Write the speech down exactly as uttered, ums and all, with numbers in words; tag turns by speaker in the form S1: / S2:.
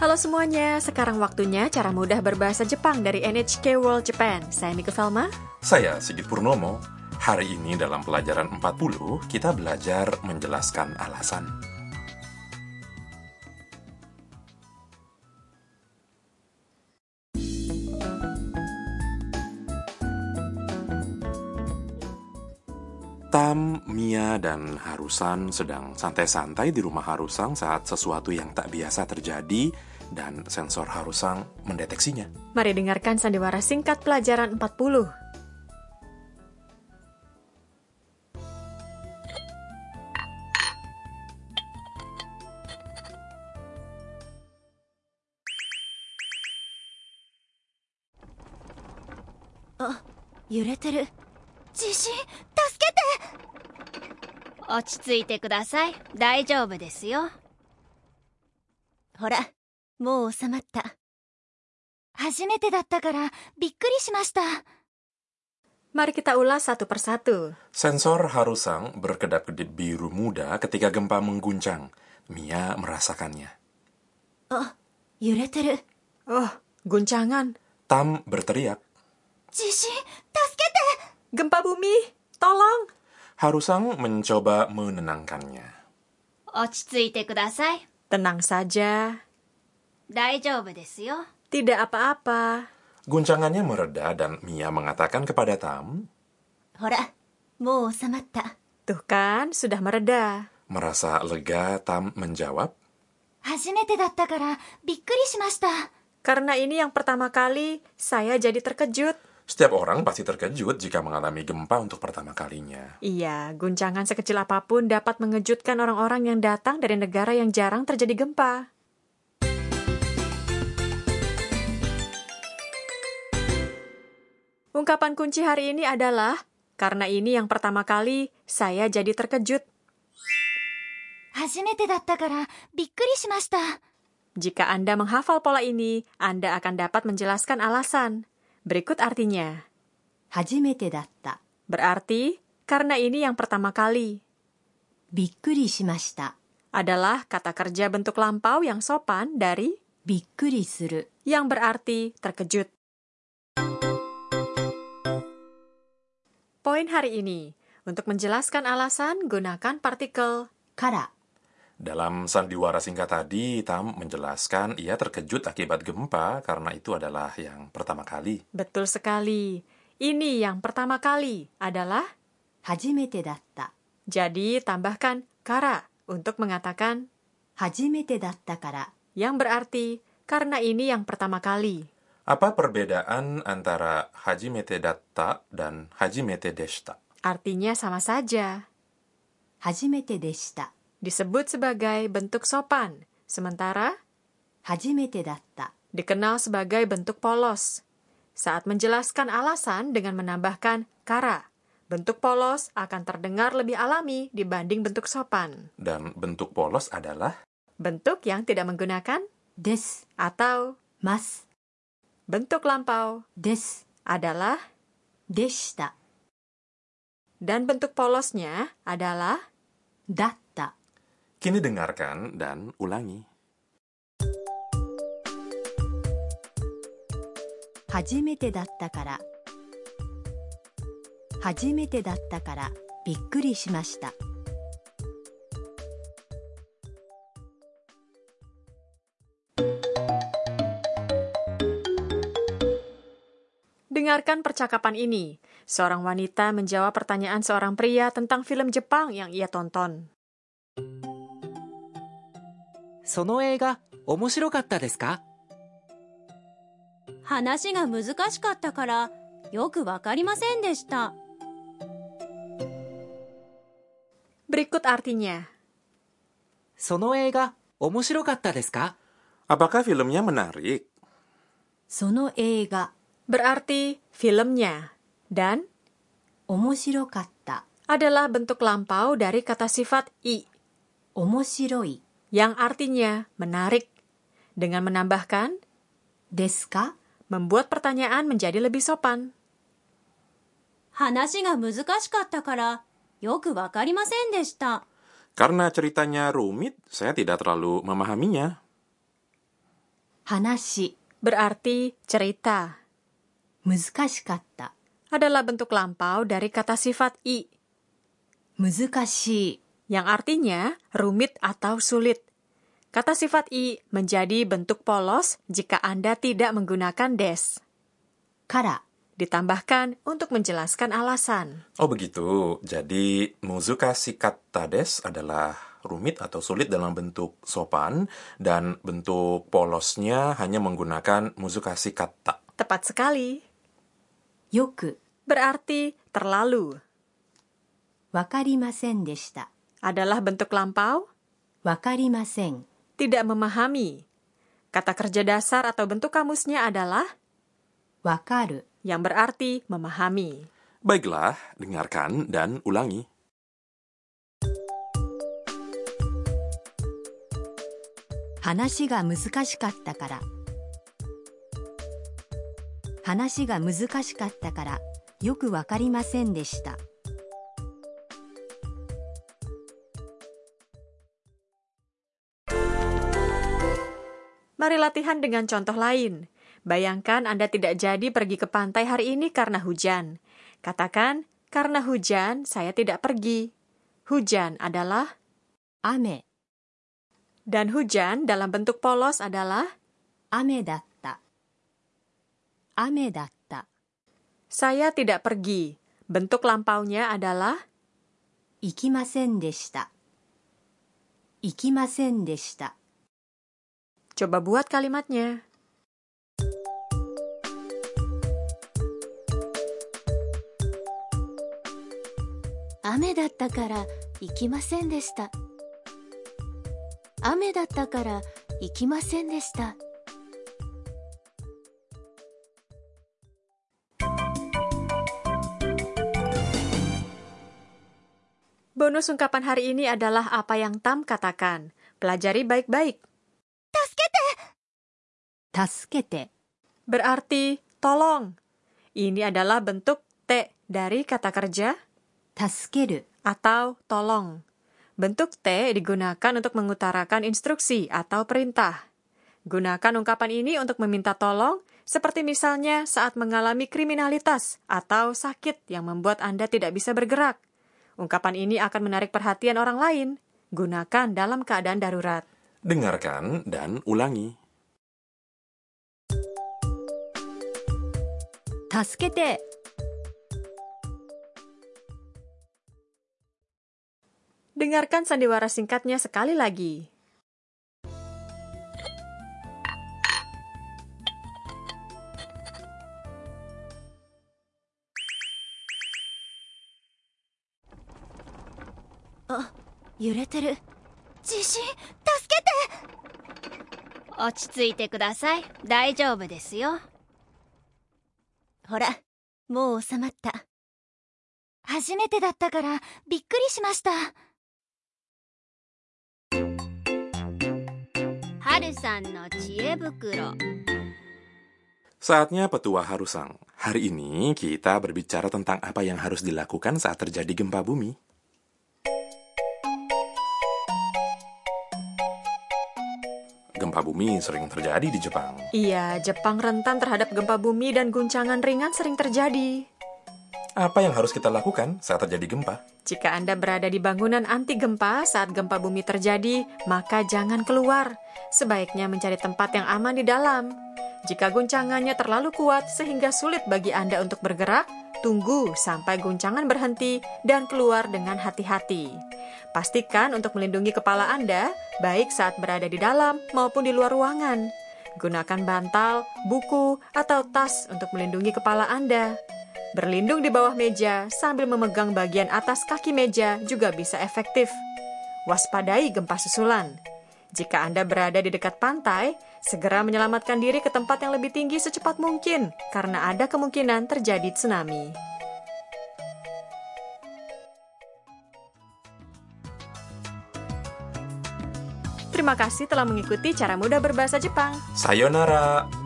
S1: Halo semuanya, sekarang waktunya cara mudah berbahasa Jepang dari N H K World Japan. Saya Mika Velma.
S2: Saya Sigit Purnomo. Hari ini dalam pelajaran empat puluh, kita belajar menjelaskan alasan. Tam, Mia, dan Harusan sedang santai-santai di rumah Harusang saat sesuatu yang tak biasa terjadi dan sensor Harusang mendeteksinya.
S1: Mari dengarkan sandiwara singkat pelajaran empat puluh.
S3: Oh, yureteru. Jishin, tasukete! 落ち着いてください。大丈夫ですよ。ほら、もう収まった。初めてだったからびっくりしました。
S1: Mari kita ulas satu persatu.
S2: Sensor Harusang berkedap-kedip biru muda ketika gempa mengguncang. Mia merasakannya.
S3: Oh, yureteru.
S1: Oh, guncangan.
S2: Tam berteriak.
S3: Jishin, tasukete!
S1: Gempa bumi, tolong.
S2: Harusang mencoba menenangkannya.
S3: 落ち着いてください。
S1: Tenang saja.
S3: 大丈夫ですよ。
S1: Tidak apa-apa.
S2: Guncangannya mereda dan Mia mengatakan kepada Tam,
S3: ほら、もう収まった。
S1: Tuh kan, sudah mereda.
S2: merasa lega, Tam menjawab,
S3: 初めてだったからびっくりしました。
S1: Karena ini yang pertama kali, saya jadi terkejut.
S2: setiap orang pasti terkejut jika mengalami gempa untuk pertama kalinya.
S1: Iya, guncangan sekecil apapun dapat mengejutkan orang-orang yang datang dari negara yang jarang terjadi gempa. Ungkapan kunci hari ini adalah, karena ini yang pertama kali, saya jadi terkejut.
S3: 初めてだったからびっくりしました。
S1: Jika Anda menghafal pola ini, Anda akan dapat menjelaskan alasan. Berikut artinya.
S3: 初めてだった。
S1: Berarti, karena ini yang pertama kali.
S3: びっくりしました。
S1: Adalah kata kerja bentuk lampau yang sopan dari
S3: びっくりする。
S1: yang berarti terkejut. Poin hari ini. Untuk menjelaskan alasan, gunakan partikel
S3: から。
S2: Dalam sandiwara singkat tadi, Tam menjelaskan ia terkejut akibat gempa karena itu adalah yang pertama kali.
S1: Betul sekali. Ini yang pertama kali adalah
S3: 初めてだった。
S1: jadi tambahkan kara untuk mengatakan
S3: 初めてだったから。
S1: yang berarti karena ini yang pertama kali.
S2: Apa perbedaan antara hajimete datta dan hajimete deshita?
S1: Artinya sama saja.
S3: 初めてでした。
S1: Disebut sebagai bentuk sopan, sementara
S3: 初めてだった。
S1: dikenal sebagai bentuk polos. Saat menjelaskan alasan dengan menambahkan kara, bentuk polos akan terdengar lebih alami dibanding bentuk sopan.
S2: Dan bentuk polos adalah
S1: Bentuk yang tidak menggunakan
S3: です。
S1: atau
S3: ます。
S1: bentuk lampau
S3: です。
S1: adalah
S3: でした。
S1: dan bentuk polosnya adalah
S3: だった。
S2: Kini dengarkan dan ulangi.
S3: 初めてだったから。初めてだったからびっくりしました。
S1: Dengarkan percakapan ini. Seorang wanita menjawab pertanyaan seorang pria tentang film Jepang yang ia tonton.
S4: その映画、面白かったですか？
S3: 話が難しかったからよくわかりませんでした。
S1: Berikut artinya.
S4: その映画、面白かったですか？
S2: Apakah filmnya menarik?
S3: その映画、
S1: Berarti filmnya. Dan
S3: 面白かった。
S1: adalah bentuk lampau dari kata sifat i
S3: 面白い。
S1: yang artinya menarik. Dengan menambahkan
S3: ですか？
S1: membuat pertanyaan menjadi lebih sopan.
S3: 話が難しかったからよくわかりませんでした。
S2: Karena ceritanya rumit, saya tidak terlalu memahaminya.
S3: 話
S1: berarti cerita.
S3: 難しかった
S1: Adalah bentuk lampau dari kata sifat i,
S3: 難しい
S1: yang artinya rumit atau sulit. Kata sifat i menjadi bentuk polos jika Anda tidak menggunakan des.
S3: から
S1: Ditambahkan untuk menjelaskan alasan.
S2: Oh begitu, jadi muzukashi katta desu adalah rumit atau sulit dalam bentuk sopan, dan bentuk polosnya hanya menggunakan muzukashi katta.
S1: Tepat sekali.
S3: よく
S1: Berarti terlalu.
S3: わかりませんでした
S1: Adalah bentuk lampau,
S3: わかりません
S1: tidak memahami. Kata kerja dasar atau bentuk kamusnya adalah
S3: わかる
S1: yang berarti memahami.
S2: Baiklah, dengarkan dan ulangi.
S3: 話が難しかったから話が難しかったからよくわかりませんでした
S1: Mari latihan dengan contoh lain. Bayangkan Anda tidak jadi pergi ke pantai hari ini karena hujan. Katakan, karena hujan saya tidak pergi. Hujan adalah
S3: 雨
S1: dan hujan dalam bentuk polos adalah
S3: 雨だった雨だった
S1: saya tidak pergi. Bentuk lampaunya adalah
S3: 行きませんでした行きませんでした
S1: coba buat kalimatnya.
S3: 雨だったから行きませんでした雨だったから行きませんでした
S1: Bonus ungkapan hari ini adalah apa yang Tam katakan. Pelajari baik-baik.
S3: 助けて
S1: Berarti tolong. Ini adalah bentuk te dari kata kerja
S3: 助ける
S1: atau tolong. Bentuk te digunakan untuk mengutarakan instruksi atau perintah. Gunakan ungkapan ini untuk meminta tolong, seperti misalnya saat mengalami kriminalitas atau sakit yang membuat Anda tidak bisa bergerak. Ungkapan ini akan menarik perhatian orang lain. Gunakan dalam keadaan darurat.
S2: Dengarkan dan ulangi.
S3: 助けて
S1: Dengarkan sandiwara singkatnya sekali lagi.
S3: Ah, 揺れてる地震助けて落ち着いてください大丈夫ですよほらもう収まった初めてだったからびっくりしました春さんの知恵袋
S2: Saatnya petua Harusang. Hari ini kita berbicara tentang apa yang harus dilakukan saat terjadi gempa bumi. Gempa bumi sering terjadi di Jepang.
S1: Iya, Jepang rentan terhadap gempa bumi dan guncangan ringan sering terjadi.
S2: Apa yang harus kita lakukan saat terjadi gempa?
S1: Jika Anda berada di bangunan anti gempa saat gempa bumi terjadi, maka jangan keluar. Sebaiknya mencari tempat yang aman di dalam. Jika guncangannya terlalu kuat sehingga sulit bagi Anda untuk bergerak, tunggu sampai guncangan berhenti dan keluar dengan hati-hati. Pastikan untuk melindungi kepala Anda, baik saat berada di dalam maupun di luar ruangan. Gunakan bantal, buku, atau tas untuk melindungi kepala Anda. Berlindung di bawah meja sambil memegang bagian atas kaki meja juga bisa efektif. Waspadai gempa susulan. Jika Anda berada di dekat pantai, segera menyelamatkan diri ke tempat yang lebih tinggi secepat mungkin, karena ada kemungkinan terjadi tsunami. Terima kasih telah mengikuti Cara Mudah Berbahasa Jepang.
S2: Sayonara!